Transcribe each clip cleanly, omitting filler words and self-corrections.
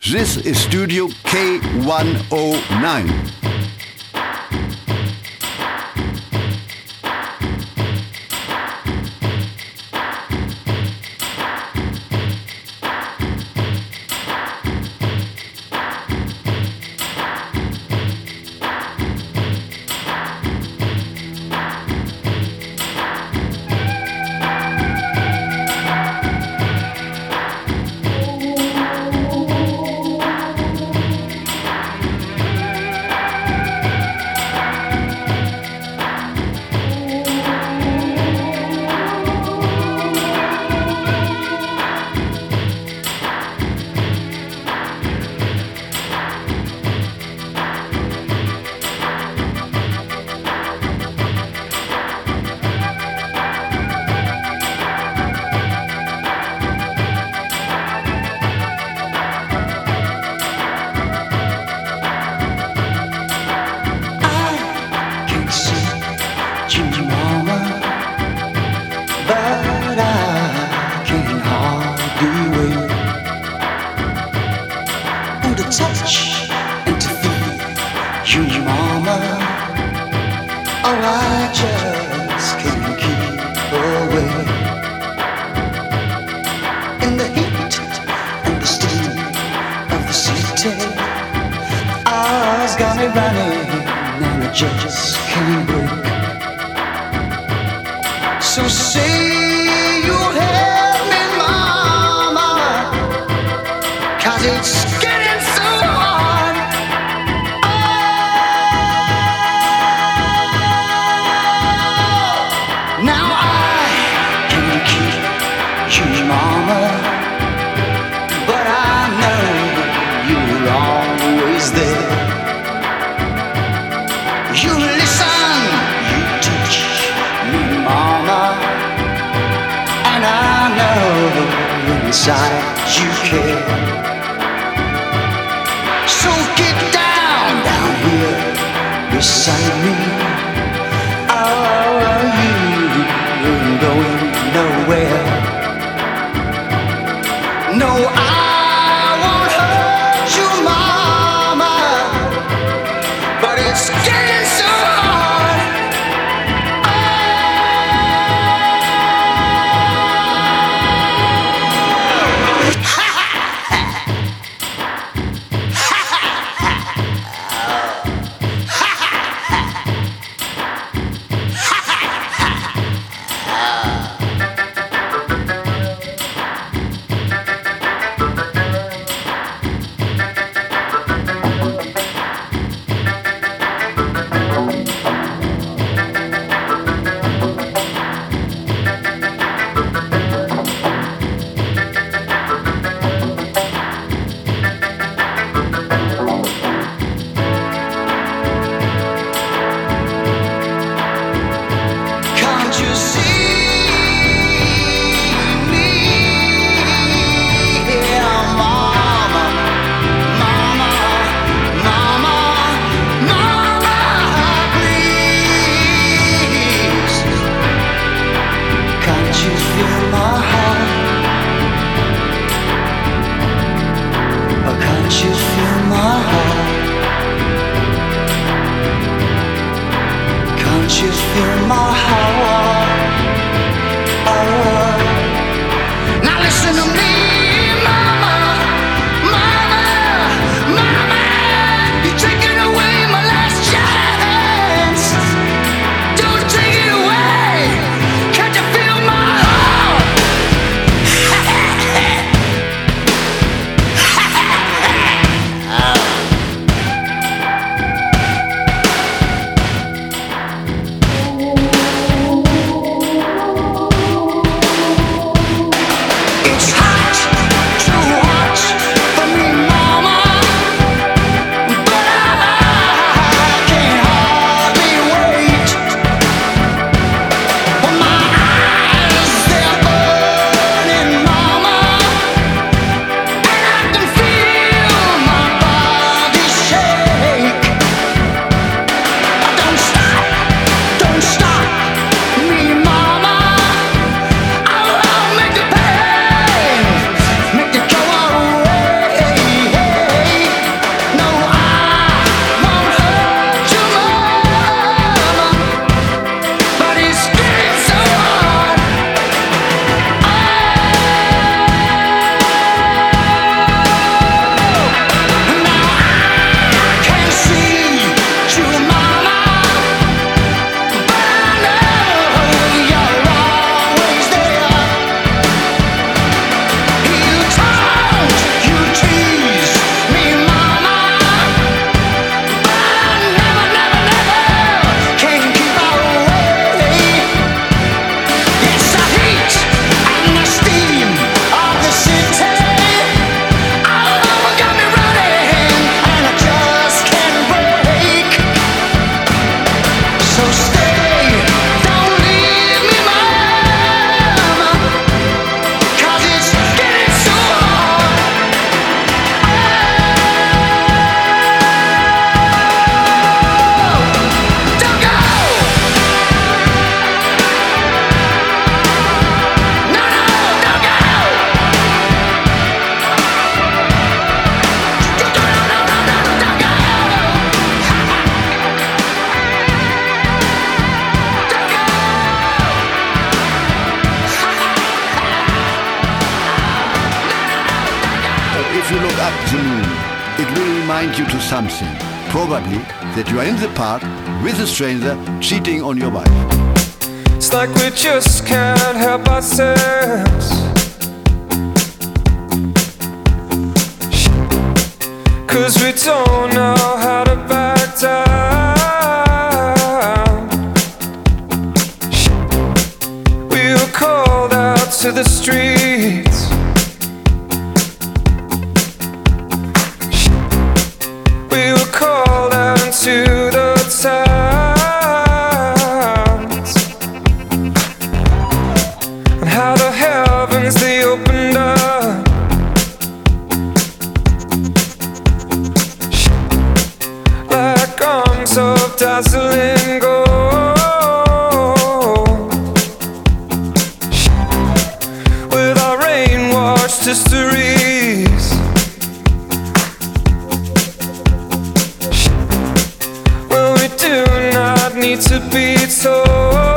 This is Studio K109. the moon. It will remind you to something. Probably that you are in the park with a stranger cheating on your wife. It's like we just can't help ourselves. 'Cause we don't know how to back down. We were called out to the streets. We were called out into the towns. And how the heavens they opened up. Like arms of dazzling gold. With our rain-washed histories. Well, we do not need to be told.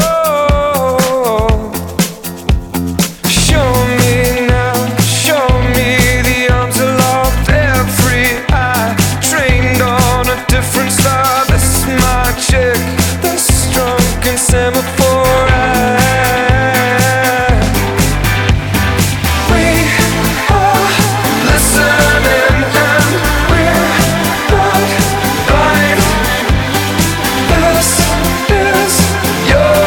Show me now, show me the arms aloft, every eye trained on a different star. This is magic, this drunken semaphore eye. We are listening and we're not blind. This is your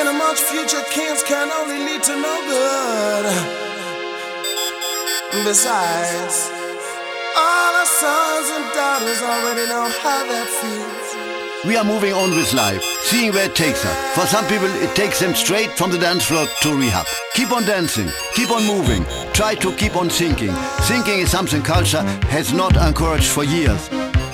spending much future camps can only lead to no good. Besides, all our sons and daughters already know how that feels. We are moving on with life, seeing where it takes us. For some people, it takes them straight from the dance floor to rehab. Keep on dancing, keep on moving, try to keep on thinking. Thinking is something culture has not encouraged for years.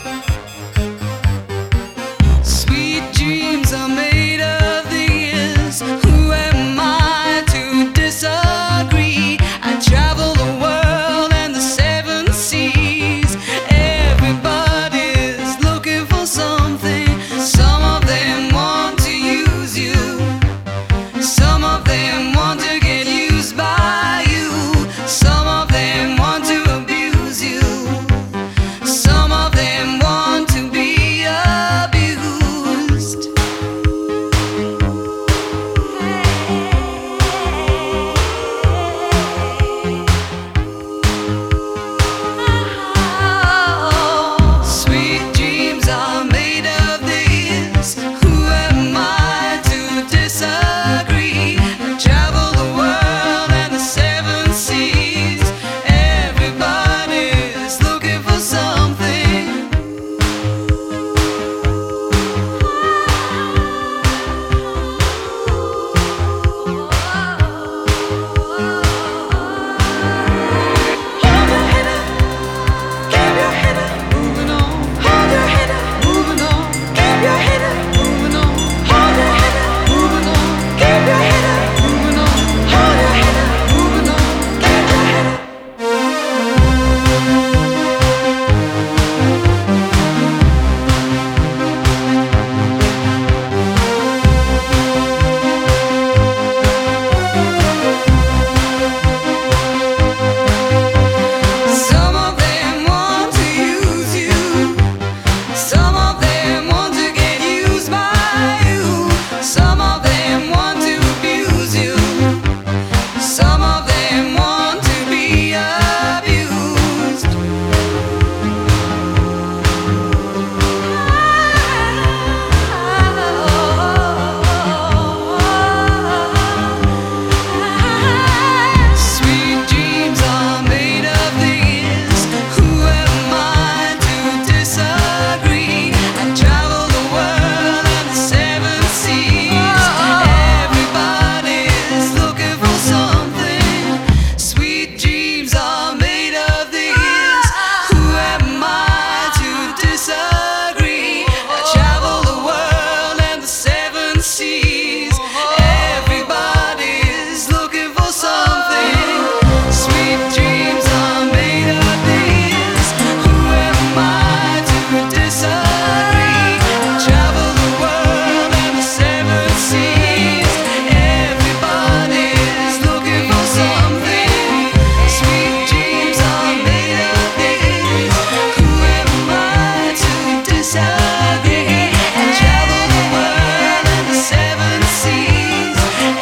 Sweet dreams are made of these. Who am I to disagree? I travel the world and the seven seas. Everybody's looking for something. Some of them want to use you. Some of them want to get used by you. Some of them want to abuse you. Some of them want to be abused. Sweet dreams are made of these. Who am I to disagree? I travel the world and the seven seas. Everybody's looking for something. Hold your head up, keep your head up, moving on. Hold your head up, moving on. Keep your head up, moving on. Hold your head up, moving on. Keep your head up, moving on. Hold your head up, moving on. Keep your head up. Some of them want to use you. Some of them want to get used by you. Some of them want to abuse you. Some of them want to be abused. Sweet dreams are made of these. Who am I to disagree? I travel the world and the seven seas. Everybody's looking for something. Sweet dreams are made of these. Who am I to disagree? I travel the world and the seven seas. Everybody's looking for something. Sweet dreams are made of these. Who am I to disagree? I travel the world and the seven seas. Everybody's looking for something. Sweet dreams are made of these. Who am I to disagree? I travel the world and the seven seas.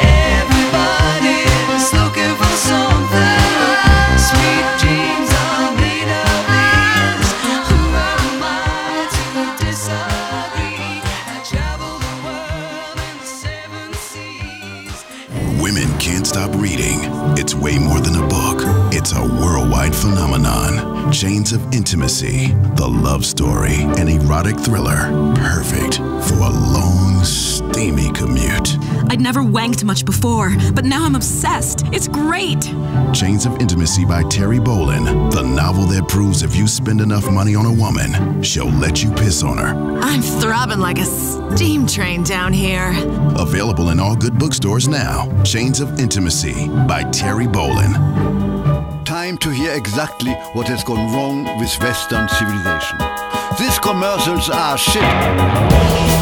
Everybody's looking for something. Sweet dreams are made of these. Who am I to disagree? I travel the world and the seven seas. Women can't stop reading. It's way more than a book. It's a worldwide phenomenon. Chains of Intimacy, the love story, an erotic thriller, perfect for a long, steamy commute. I'd never wanked much before, but now I'm obsessed. It's great. Chains of Intimacy by Terry Bolin, the novel that proves if you spend enough money on a woman, she'll let you piss on her. I'm throbbing like a steam train down here. Available in all good bookstores now. Chains of Intimacy by Terry Bolin. Time to hear exactly what has gone wrong with Western civilization. These commercials are shit.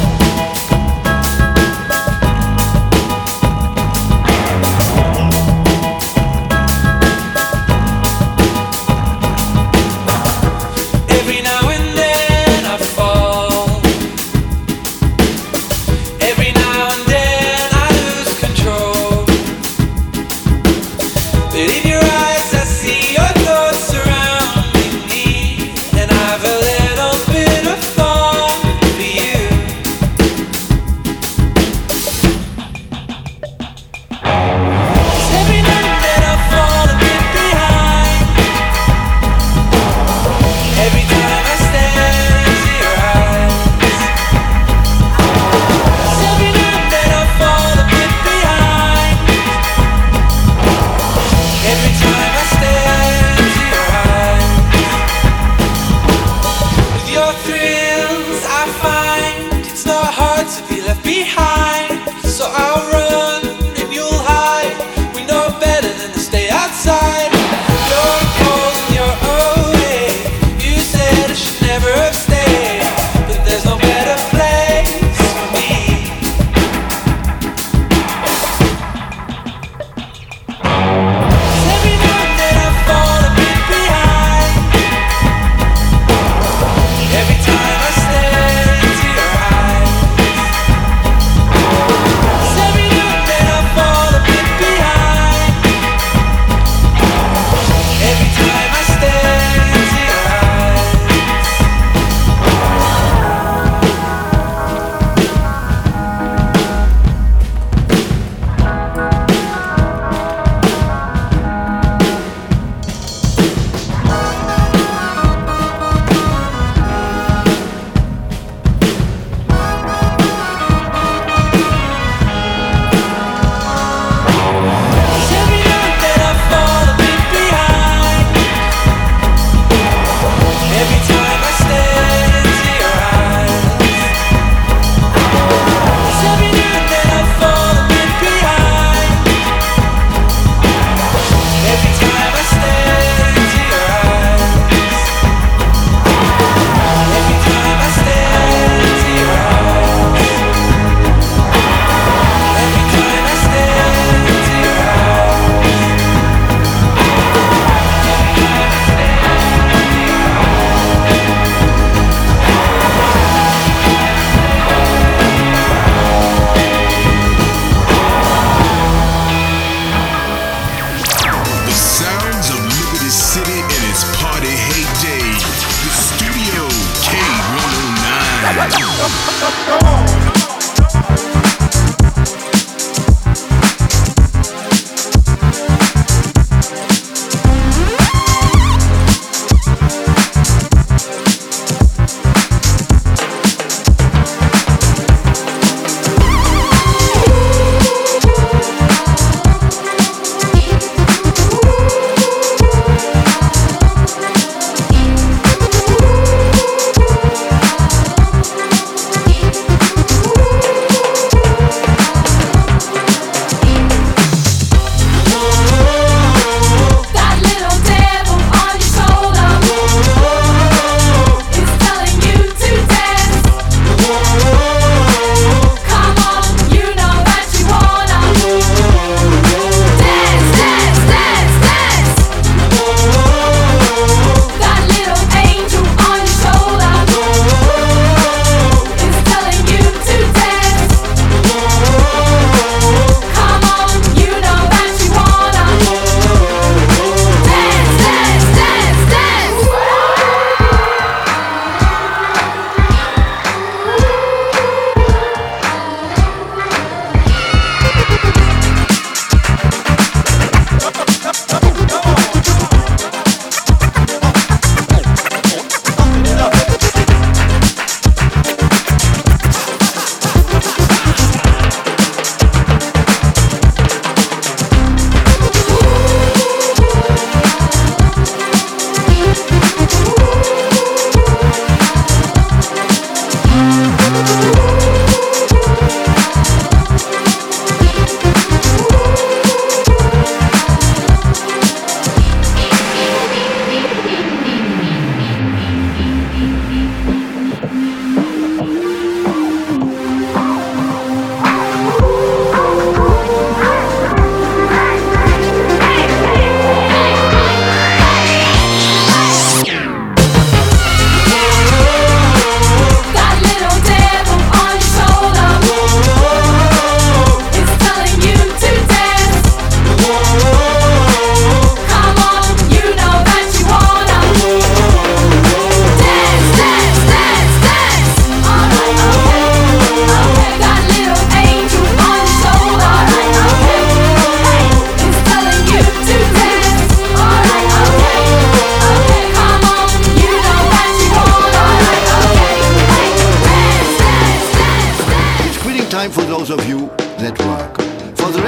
Every now and then I fall. Every now and then I lose control. But in your eyes I see your thoughts surrounding me, and I've a little bit of fun for you.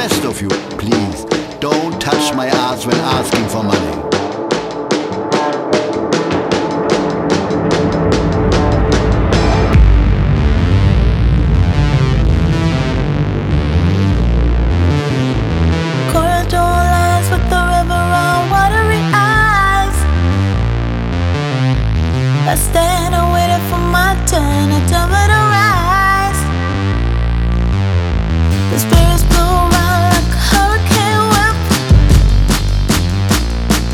rest of you, please, don't touch my ass when asking for money. I stand and waiting for my turn, a time to rise. The spirits blow around like a hurricane whip.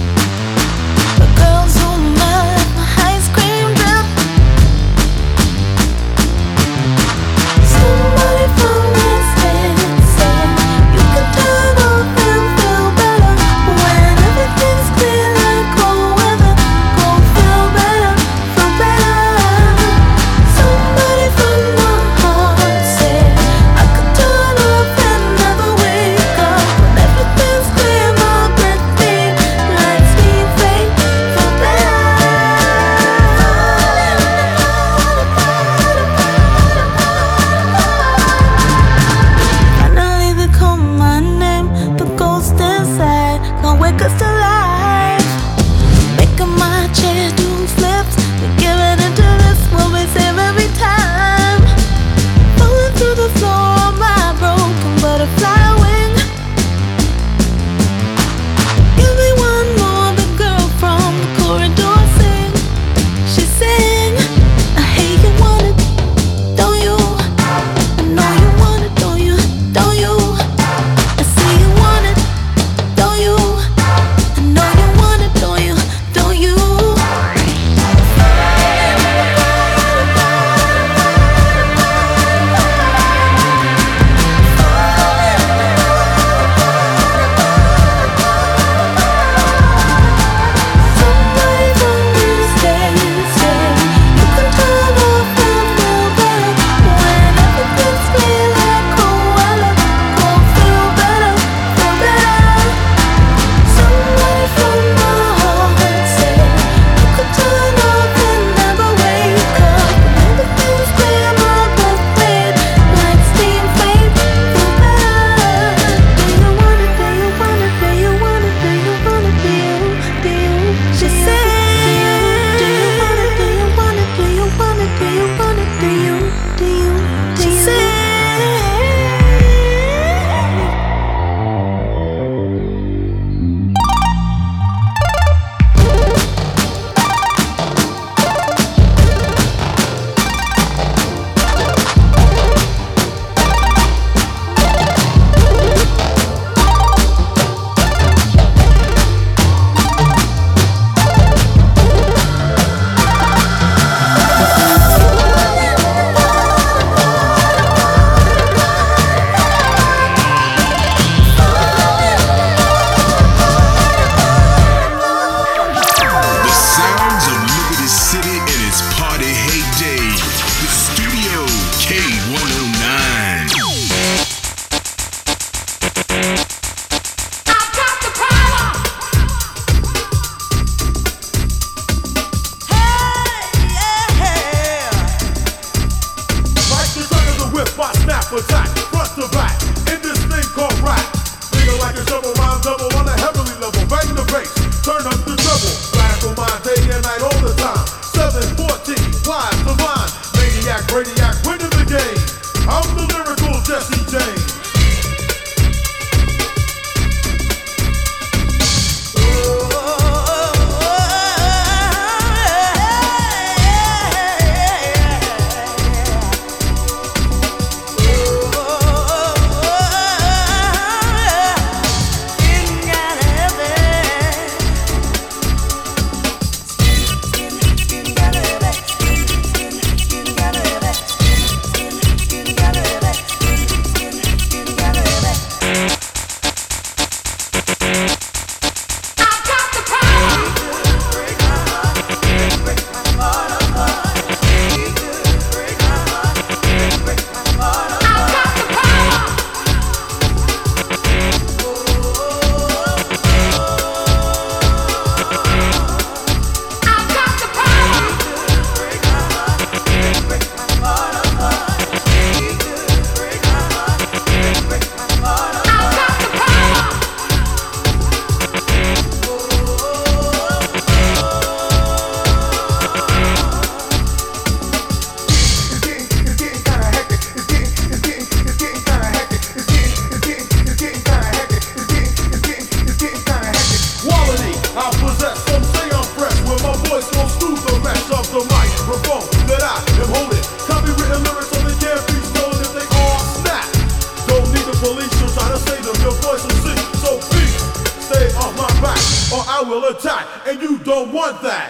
police should try to save them, your voice will sing. So please, stay off my back, or I will attack, and you don't want that.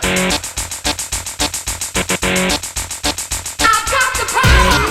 I've got the power.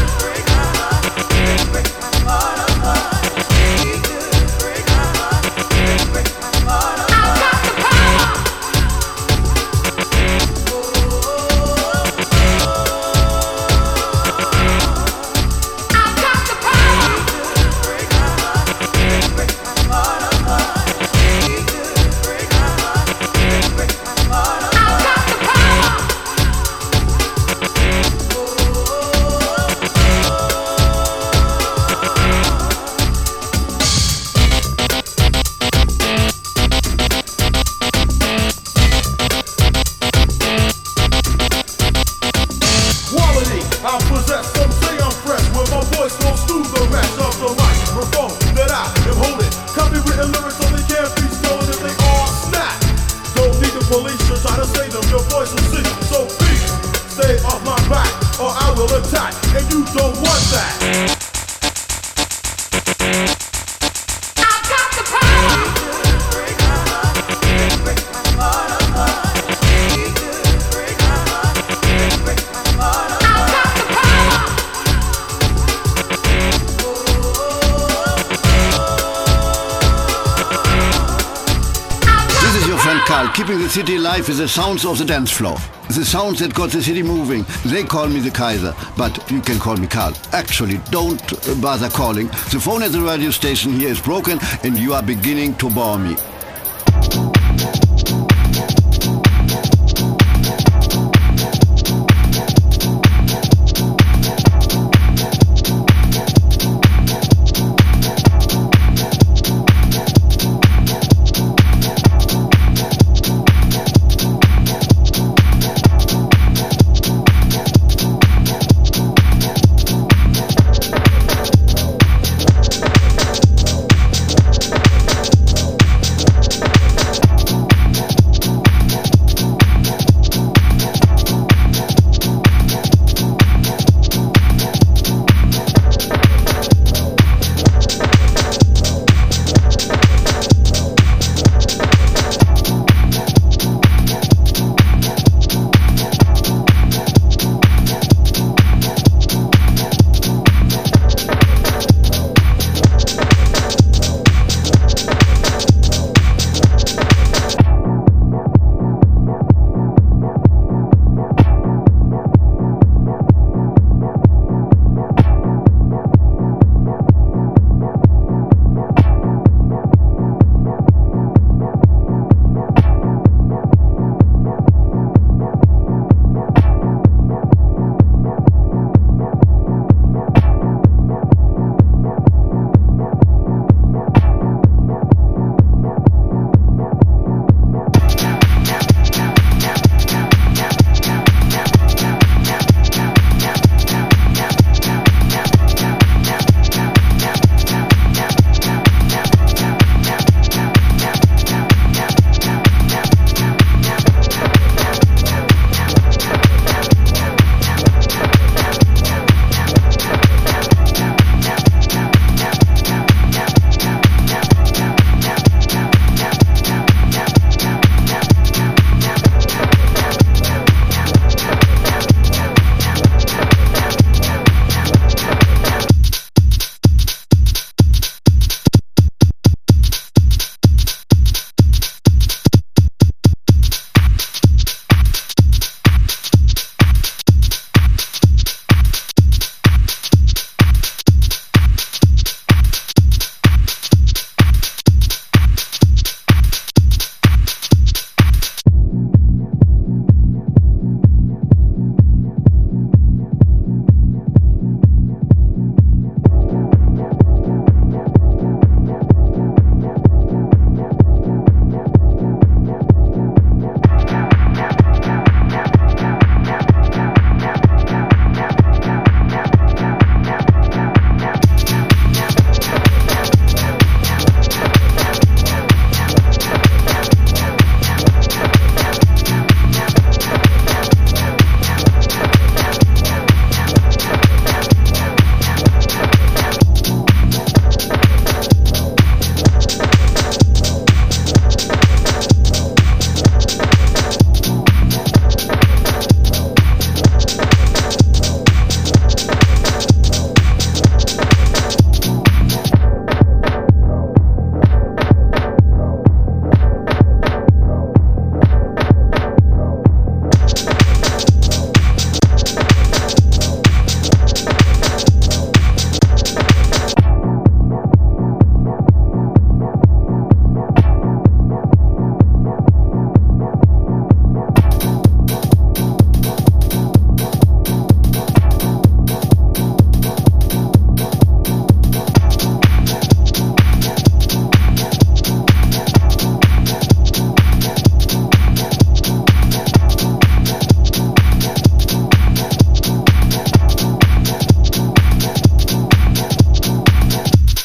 Keeping the city alive with the sounds of the dance floor. The sounds that got the city moving. They call me the Kaiser, but you can call me Karl. Actually, don't bother calling. The phone at the radio station here is broken and you are beginning to bore me.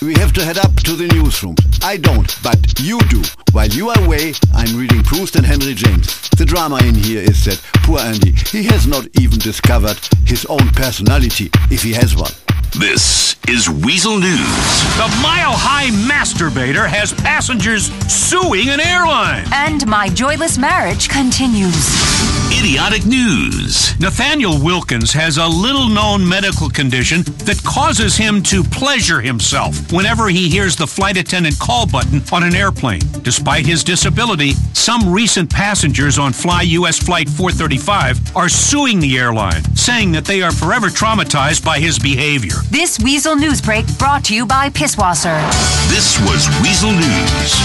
We have to head up to the newsroom. I don't, but you do. While you are away, I'm reading Proust and Henry James. The drama in here is that poor Andy, he has not even discovered his own personality, if he has one. This is Weasel News. The Mile High Masturbator has passengers suing an airline. And my joyless marriage continues. Idiotic News. Nathaniel Wilkins has a little-known medical condition that causes him to pleasure himself whenever he hears the flight attendant call button on an airplane. Despite his disability, some recent passengers on Fly US Flight 435 are suing the airline, saying that they are forever traumatized by his behavior. This Weasel News break brought to you by Pisswasser. This was Weasel News.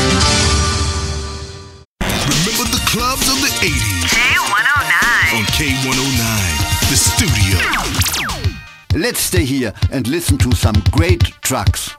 Remember the clubs of the 80s? K109. On K109, the studio. Let's stay here and listen to some great tracks.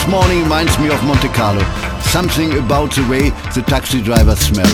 This morning reminds me of Monte Carlo. Something about the way the taxi drivers smell.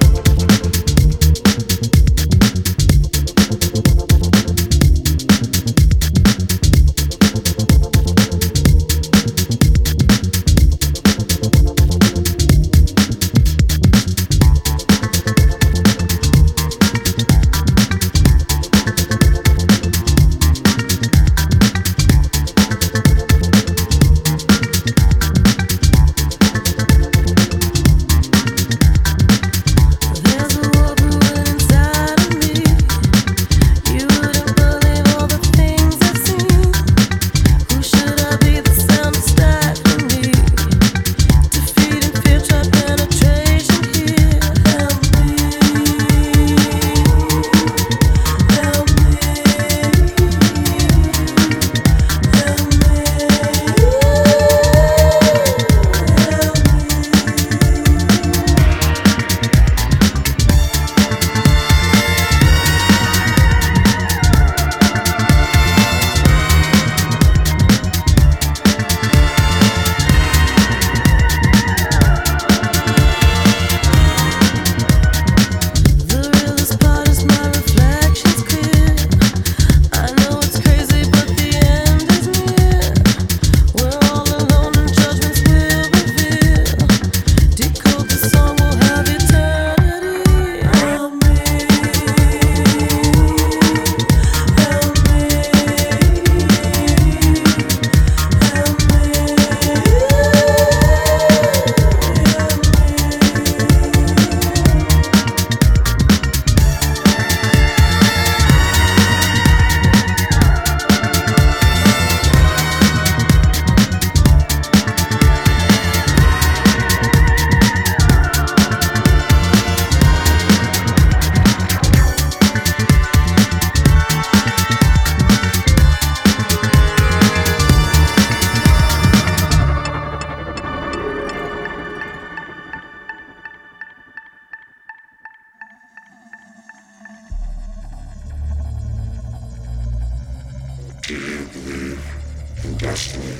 Do you believe in destiny?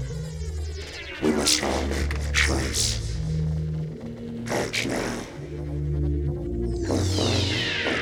We must all make a choice. Act now. Or find.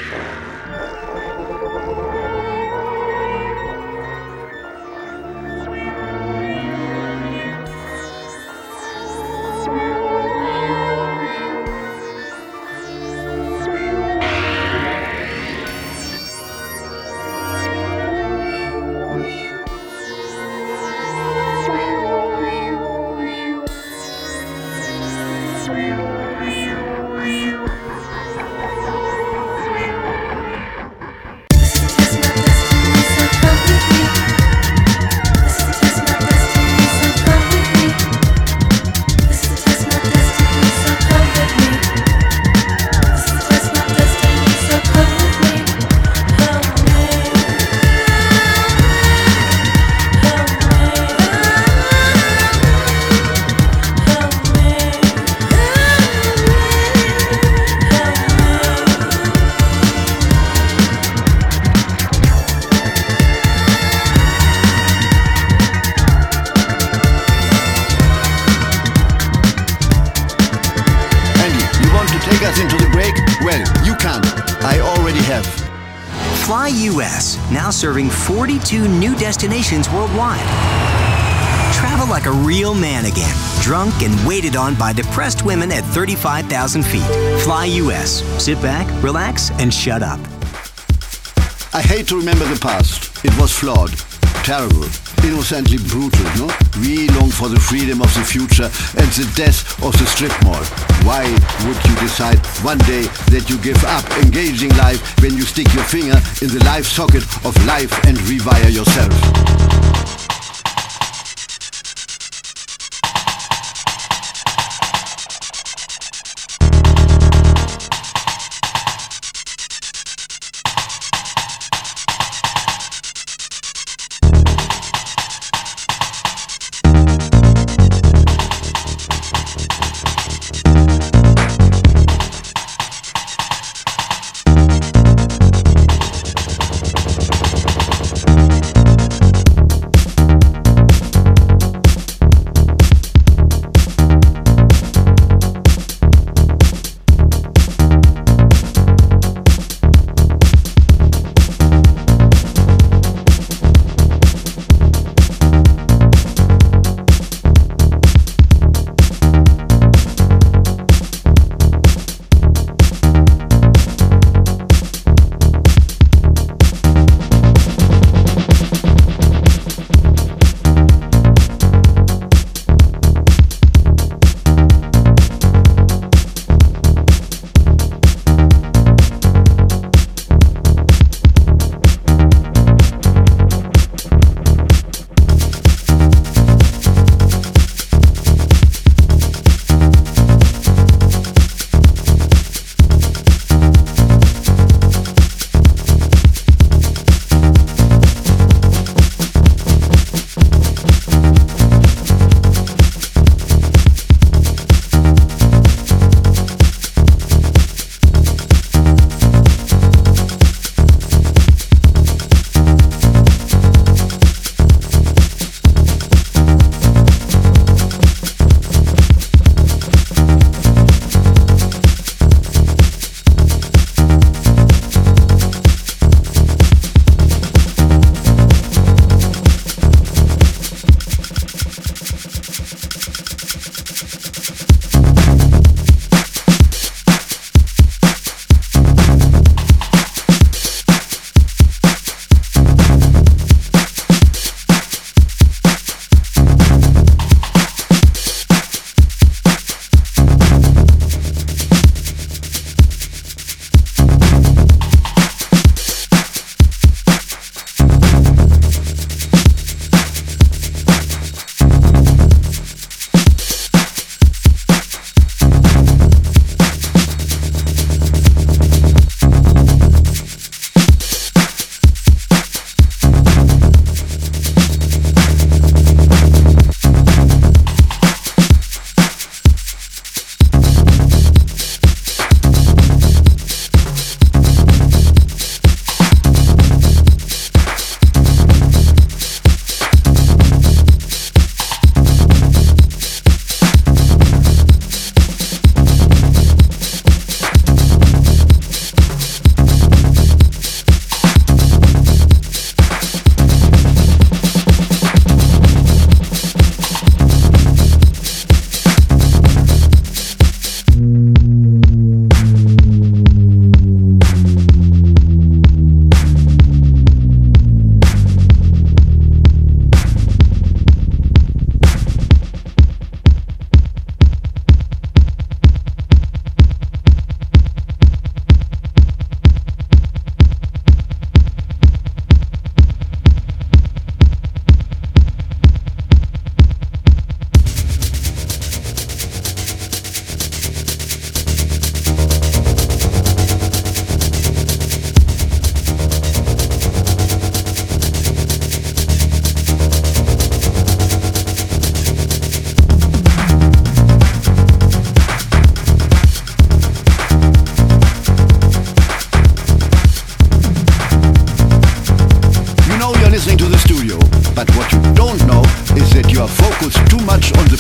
Fly US, now serving 42 new destinations worldwide. Travel like a real man again, drunk and waited on by depressed women at 35,000 feet. Fly US. Sit back, relax, and shut up. I hate to remember the past. It was flawed, terrible, innocently brutal, no? We long for the freedom of the future and the death of the strip mall. Why would you decide one day that you give up engaging life when you stick your finger in the life socket of life and rewire yourself?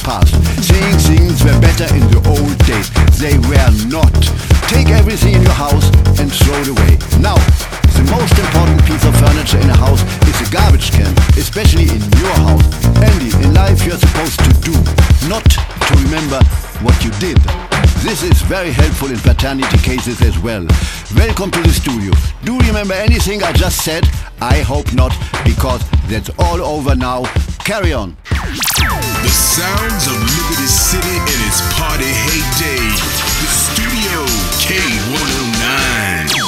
past, saying things were better in the old days. They were not. Take everything in your house and throw it away. Now, the most important piece of furniture in a house is a garbage can, especially in your house. Andy, in life you're supposed to do, not to remember what you did. This is very helpful in paternity cases as well. Welcome to the studio. Do you remember anything I just said? I hope not, because that's all over now. Carry on. The sounds of Liberty City in its party heyday. The studio K109.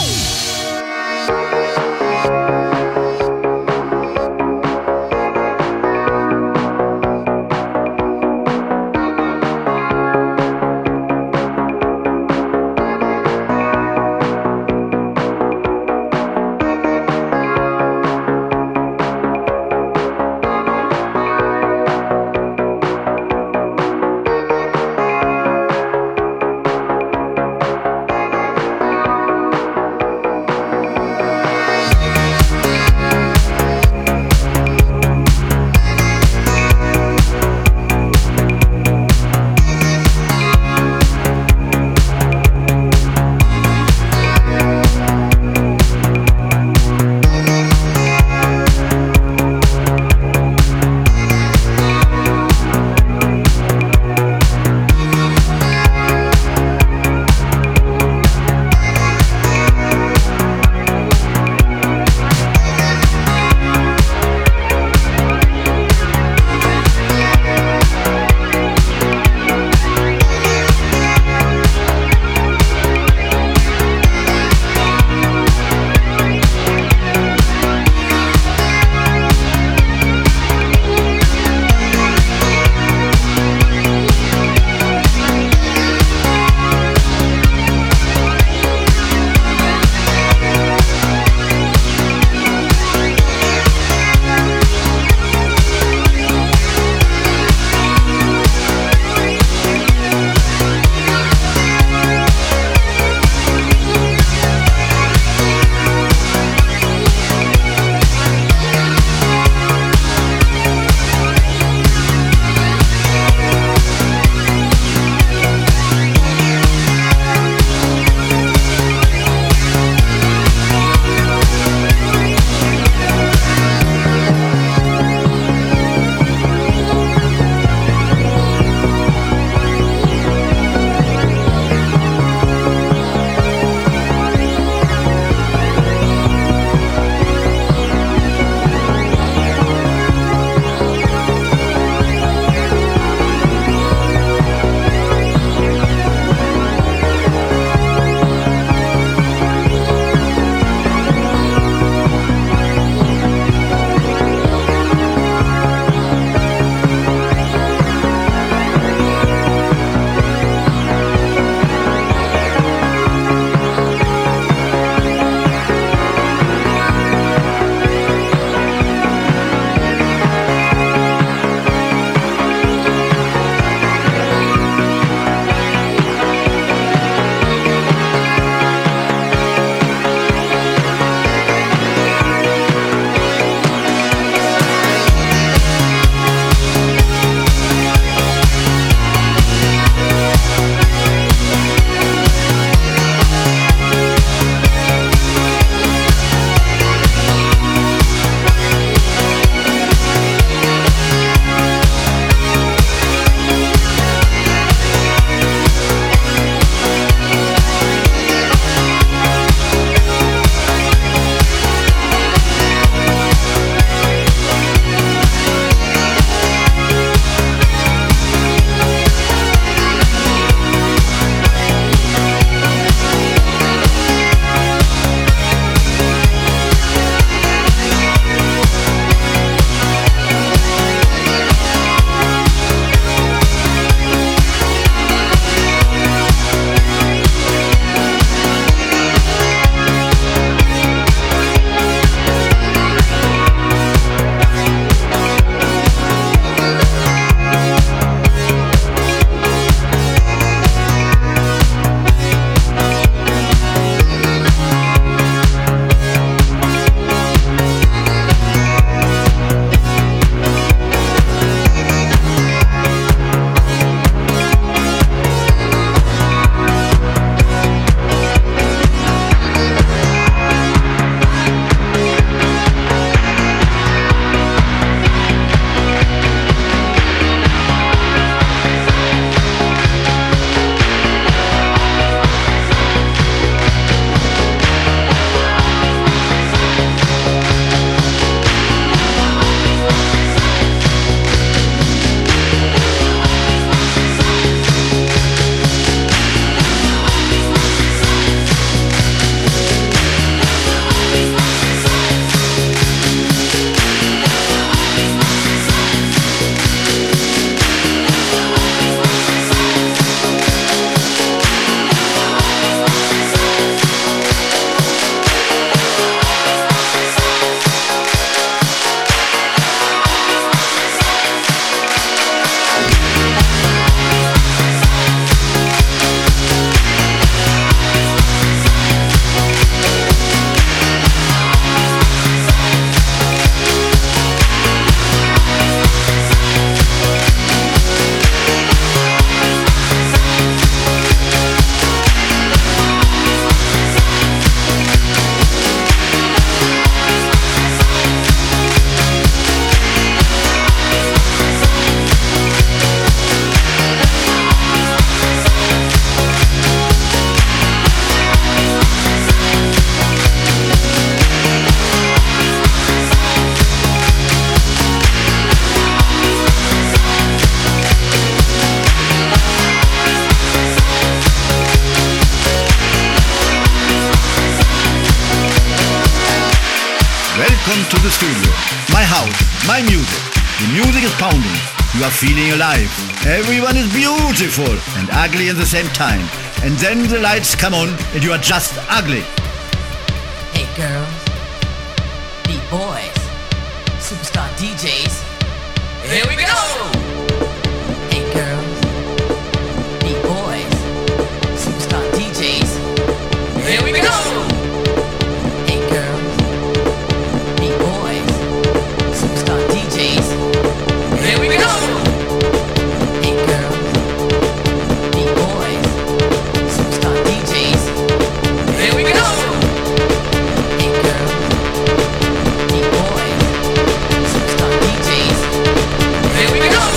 Welcome to the studio. My house, my music. The music is pounding. You are feeling alive. Everyone is beautiful and ugly at the same time. And then the lights come on and you are just ugly. Hey girls, beat boys, superstar DJs. Here we go! Hey girls, beat boys, superstar DJs. Here we go! Hey girls, beat boys, superstar DJs. Here we go! Hey girls, beat boys, superstar DJs. Here we go! Hey girls, beat boys, superstar DJs. Here we go!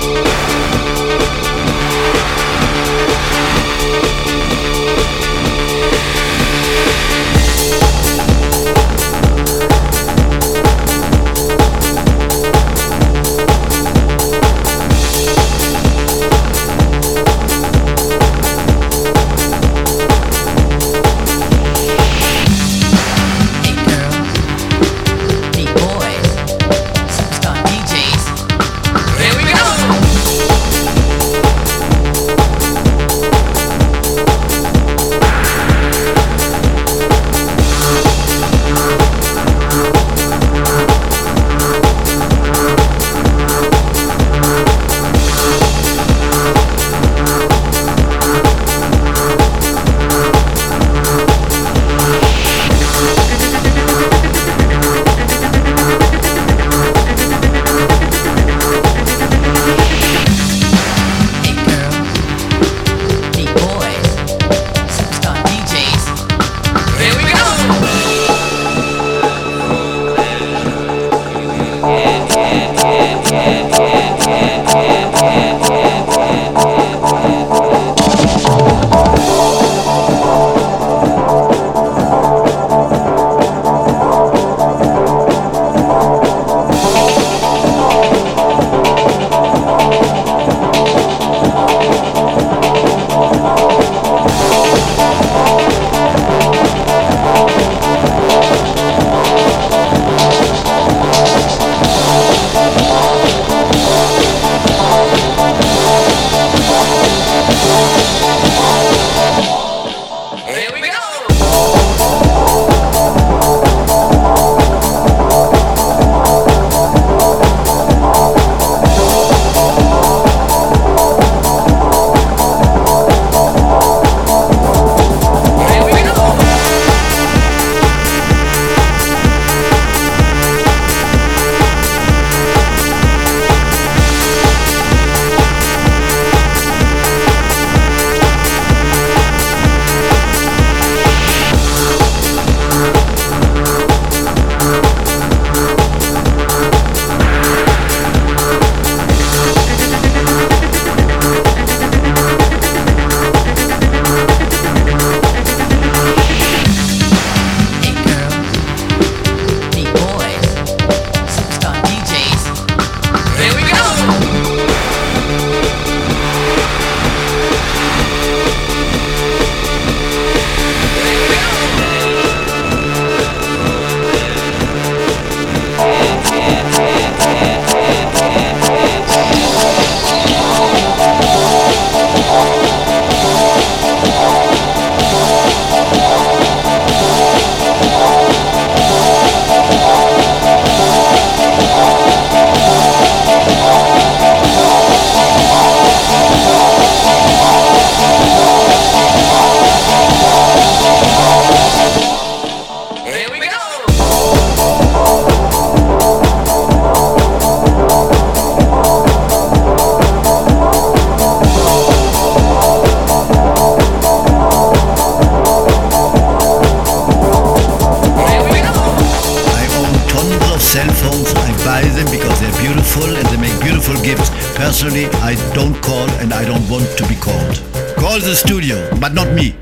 Personally, I don't call and I don't want to be called. Call the studio, but not me.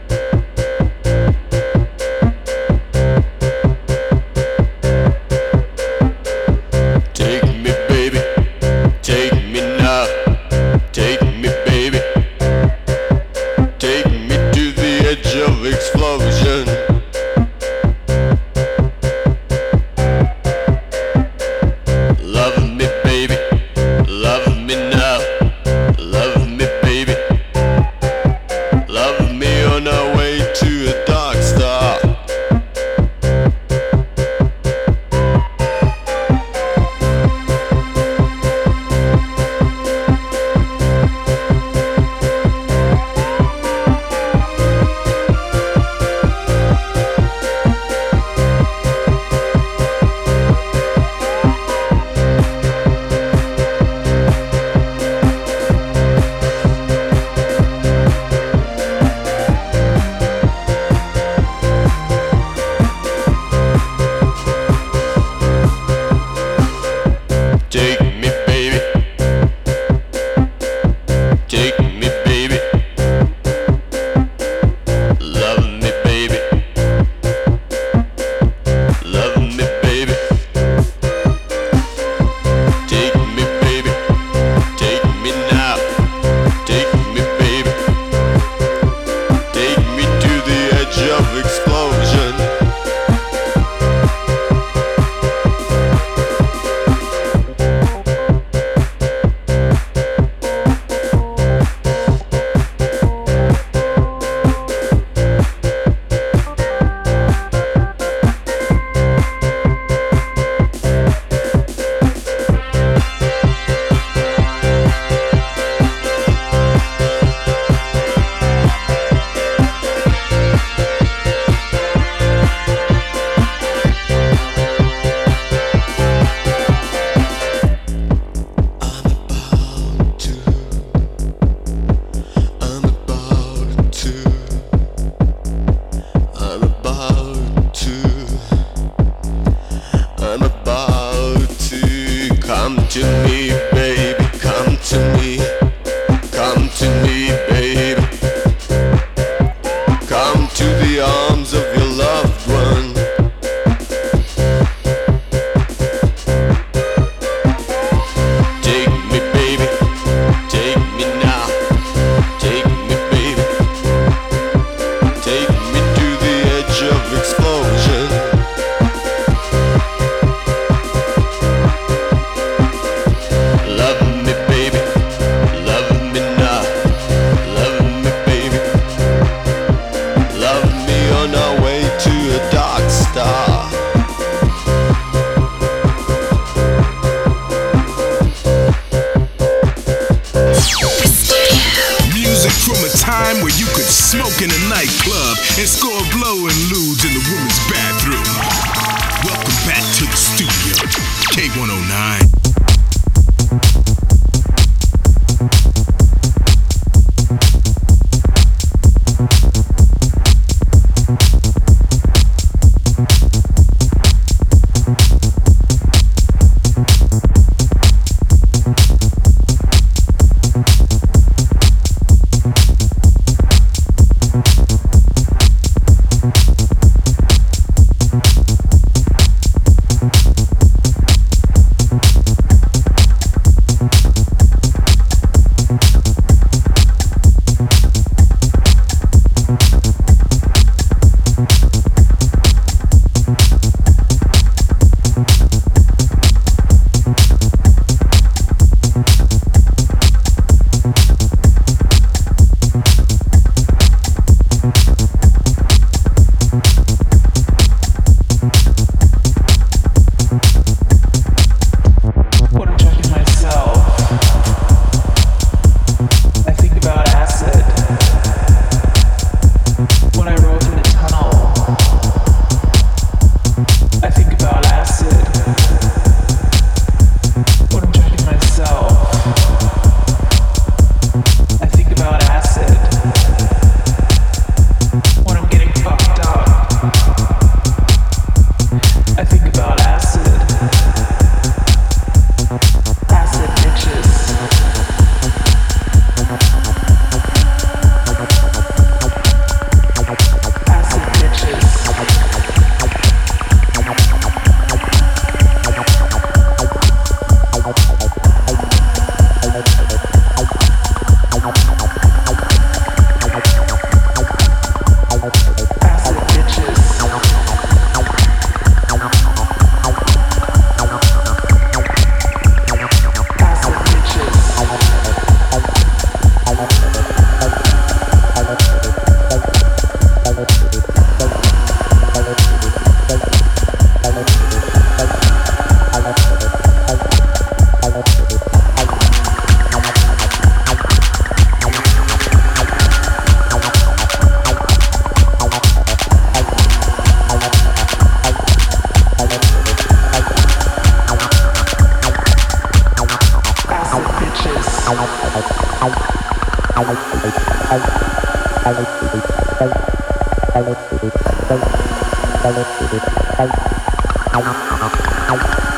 Take me, baby. Take me now. Take me, baby. Take me to the edge of explosion. take me, baby. Love me, baby. Love me, baby. Take me, baby. Take me now. Take me, baby. Take me to the edge of explosion. I'm about to come to me, baby, come to me, baby, come to the arms of your loved one. Take me, baby, take me now, take me, baby, take me to the edge of explosion. Love me, baby, love me now, love me, baby, love me on our way to a dark star. Music from a time where you could smoke in a nightclub and score blow and lewds in the women's bathroom. Welcome back to the studio, K109.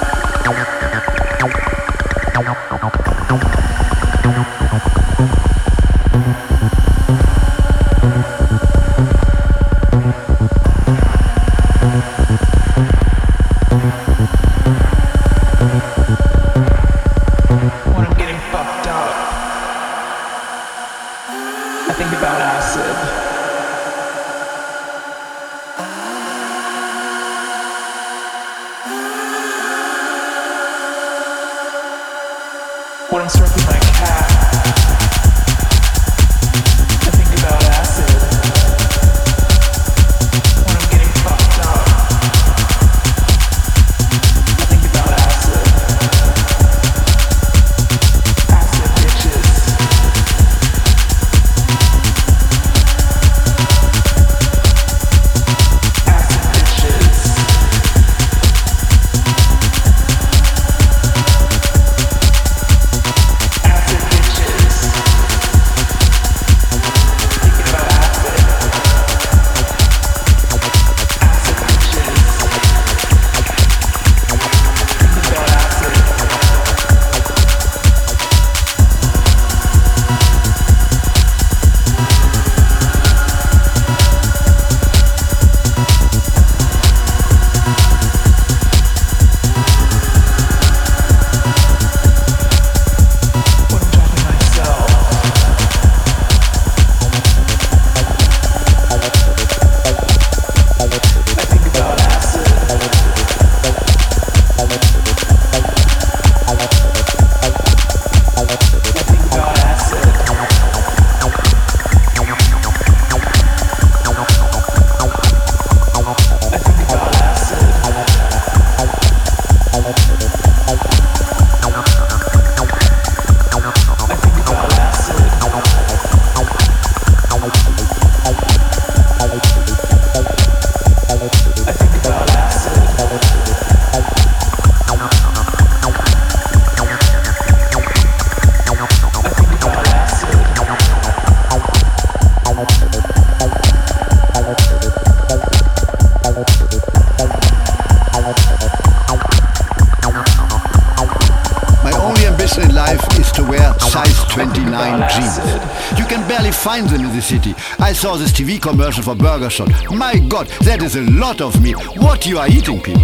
Thank you. When I'm stroking my cat, I think about acid. When I'm getting fucked up, I think about acid. Acid bitches. Acid bitches. Find them in the city. I saw this TV commercial for Burger Shot. My God, that is a lot of meat. What you are eating, people?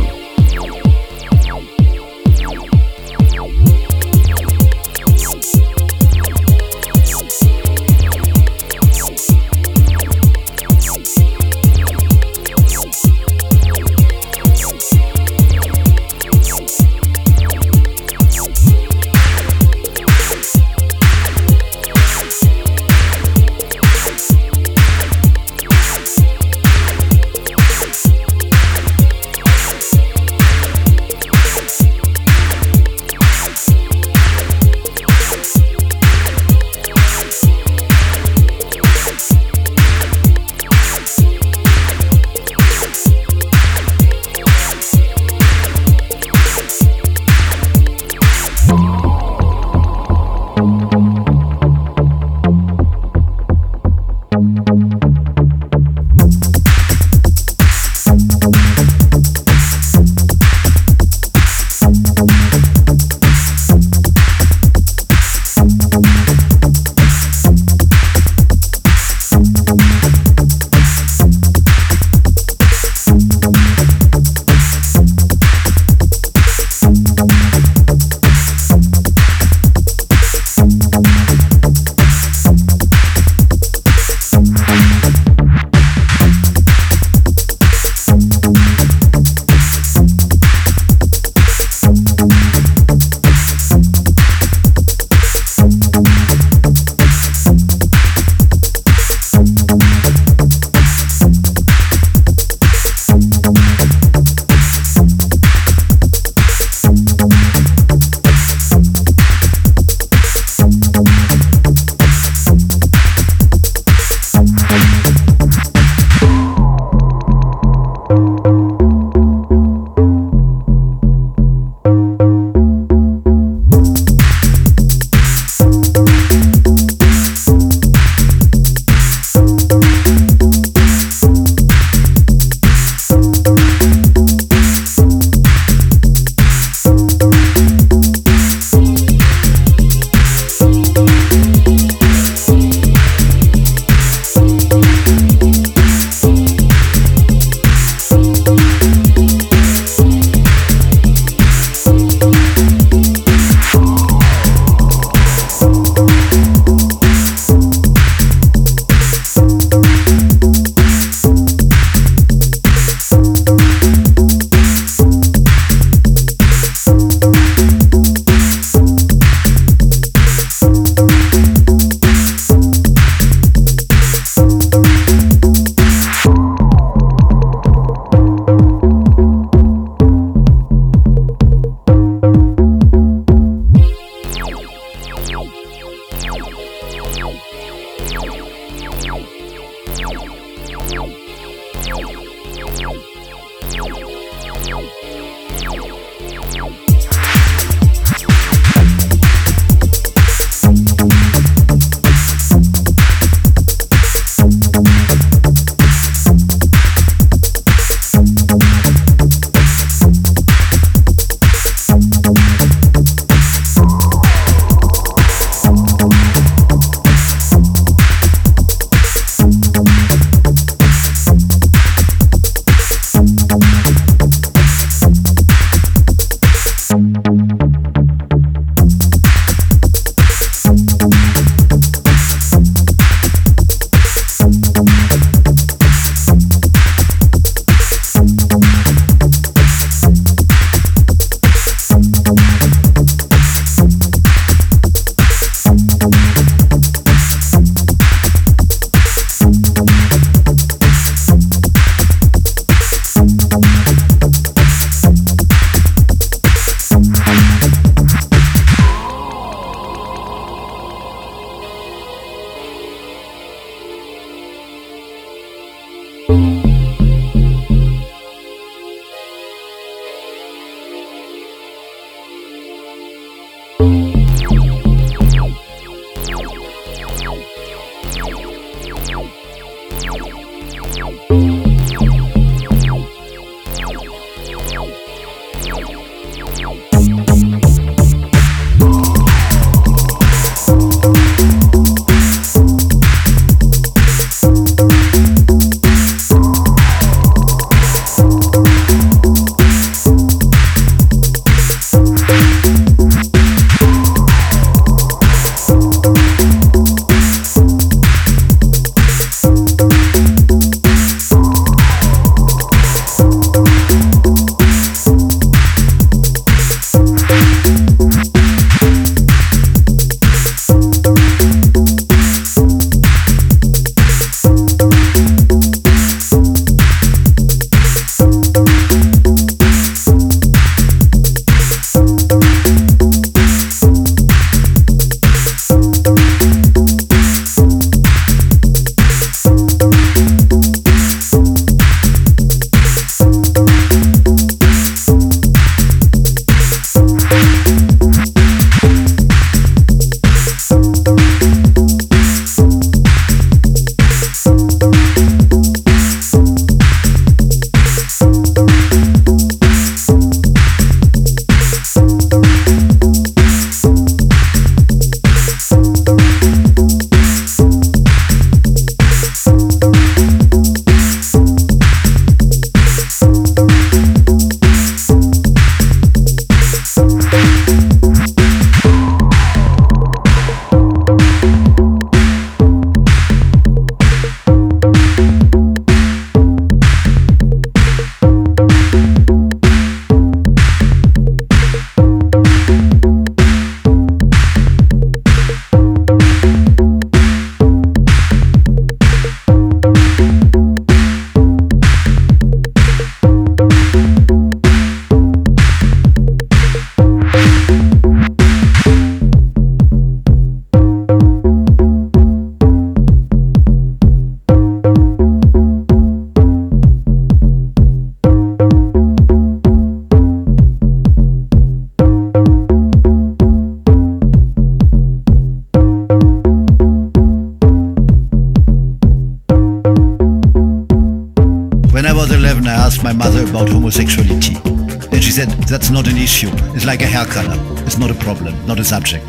my mother about homosexuality. And she said, that's not an issue. It's like a hair color. It's not a problem, not a subject.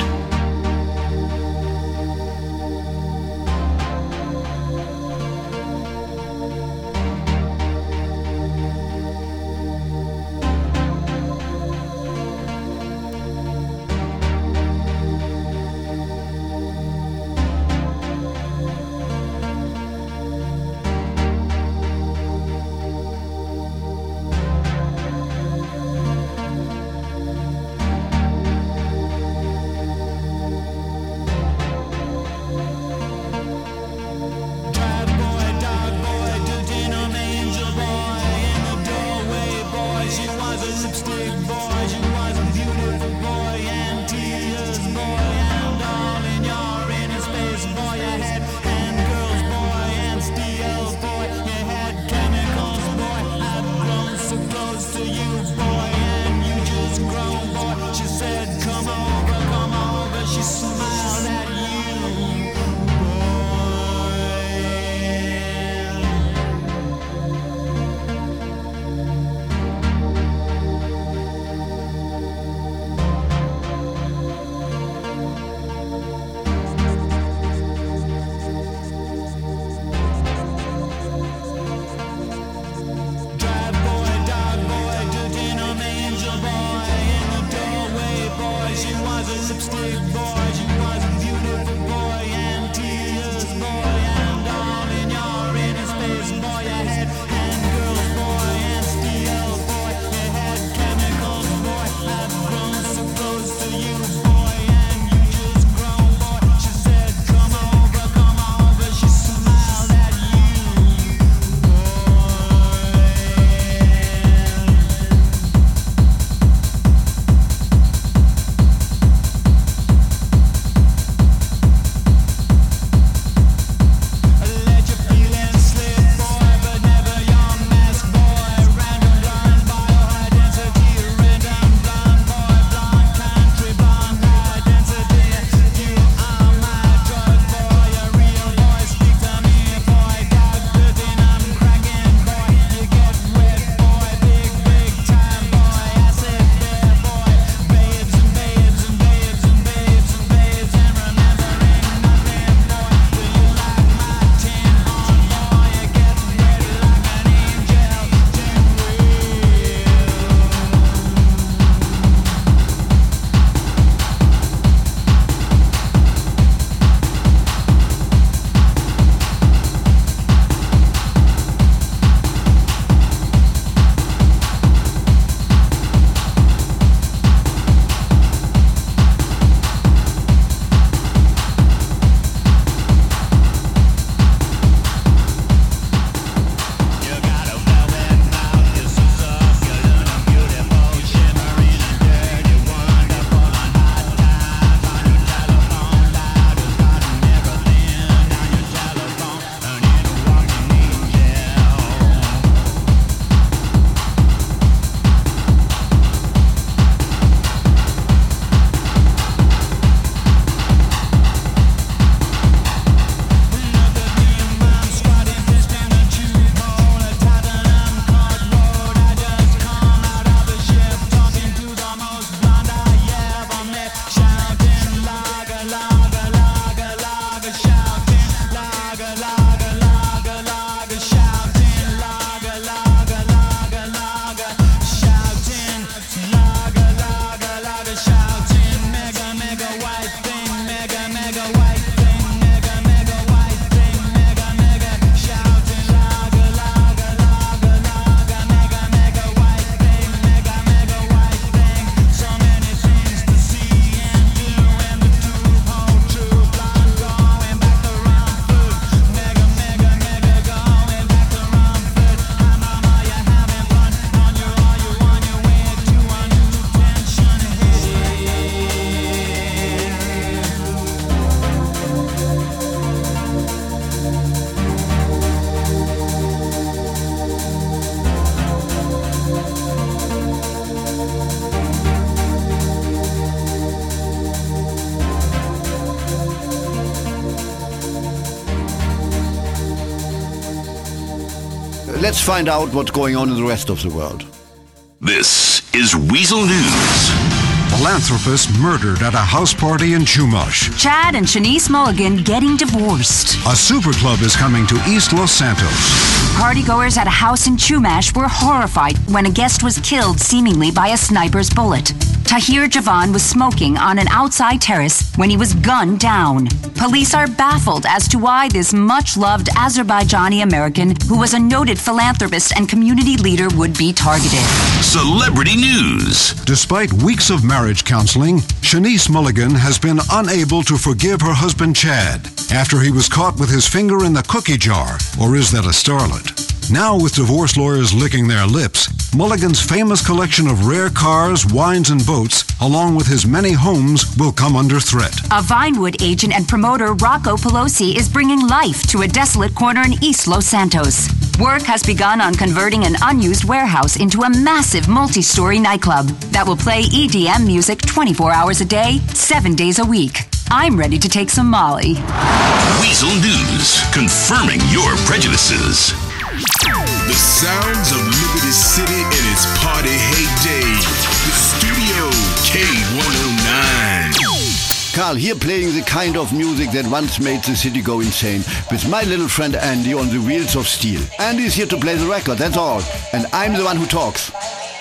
let's find out what's going on in the rest of the world. This is Weasel News. Philanthropist murdered at a house party in Chumash. Chad and Shanice Mulligan getting divorced. A super club is coming to East Los Santos. Partygoers at a house in Chumash were horrified when a guest was killed seemingly by a sniper's bullet. Tahir Javan was smoking on an outside terrace when he was gunned down. Police are baffled as to why this much-loved Azerbaijani American, who was a noted philanthropist and community leader, would be targeted. Celebrity News. Despite weeks of marriage counseling, Shanice Mulligan has been unable to forgive her husband Chad after he was caught with his finger in the cookie jar. Or is that a starlet? Now, with divorce lawyers licking their lips, Mulligan's famous collection of rare cars, wines, and boats, along with his many homes, will come under threat. A Vinewood agent and promoter, Rocco Pelosi, is bringing life to a desolate corner in East Los Santos. Work has begun on converting an unused warehouse into a massive multi-story nightclub that will play EDM music 24 hours a day, 7 days a week. I'm ready to take some Molly. Weasel News, confirming your prejudices. The sounds of Liberty City in its party heyday. The studio K109. Carl, here playing the kind of music that once made the city go insane, with my little friend Andy on the wheels of steel. Andy's here to play the record, that's all. And I'm the one who talks.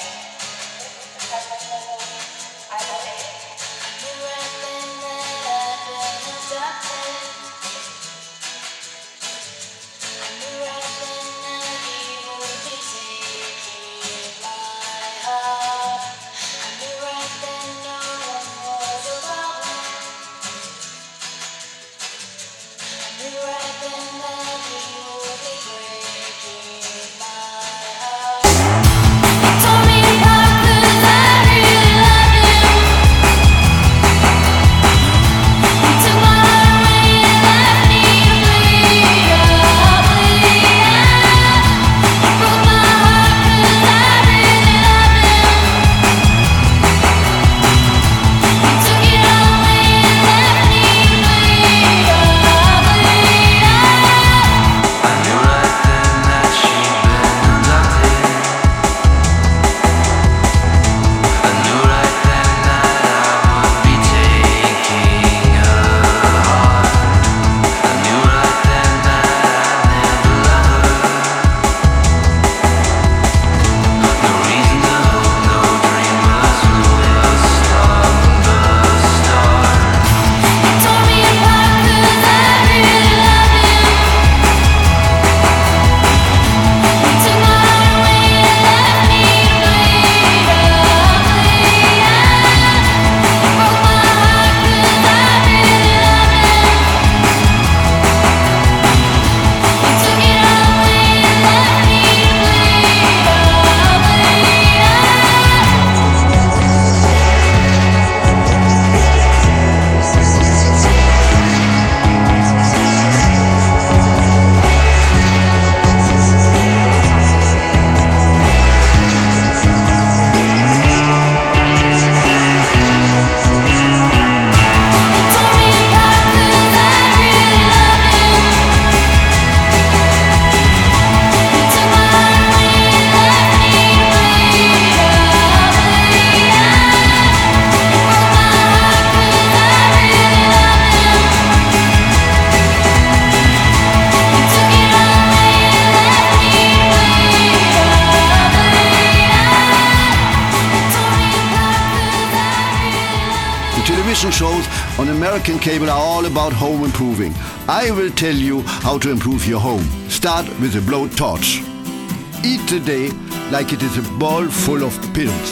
Television shows on American cable are all about home improving. I will tell you how to improve your home. Start with a blowtorch. Eat the day like it is a bowl full of pills.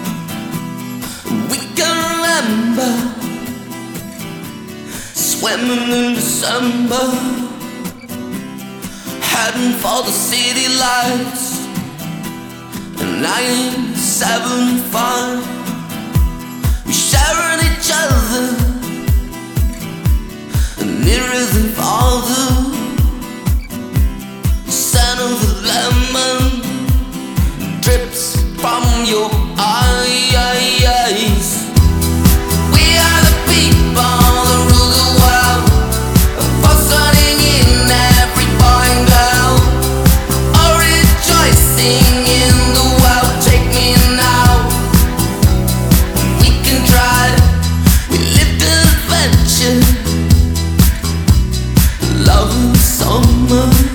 We can remember swimming in December, heading for the city lights in 1975. We sharing each other nearer than farther. The scent of the lemon drips from your eyes. We are the people that rule the world, for sunning in every boy and girl. Orange lemon.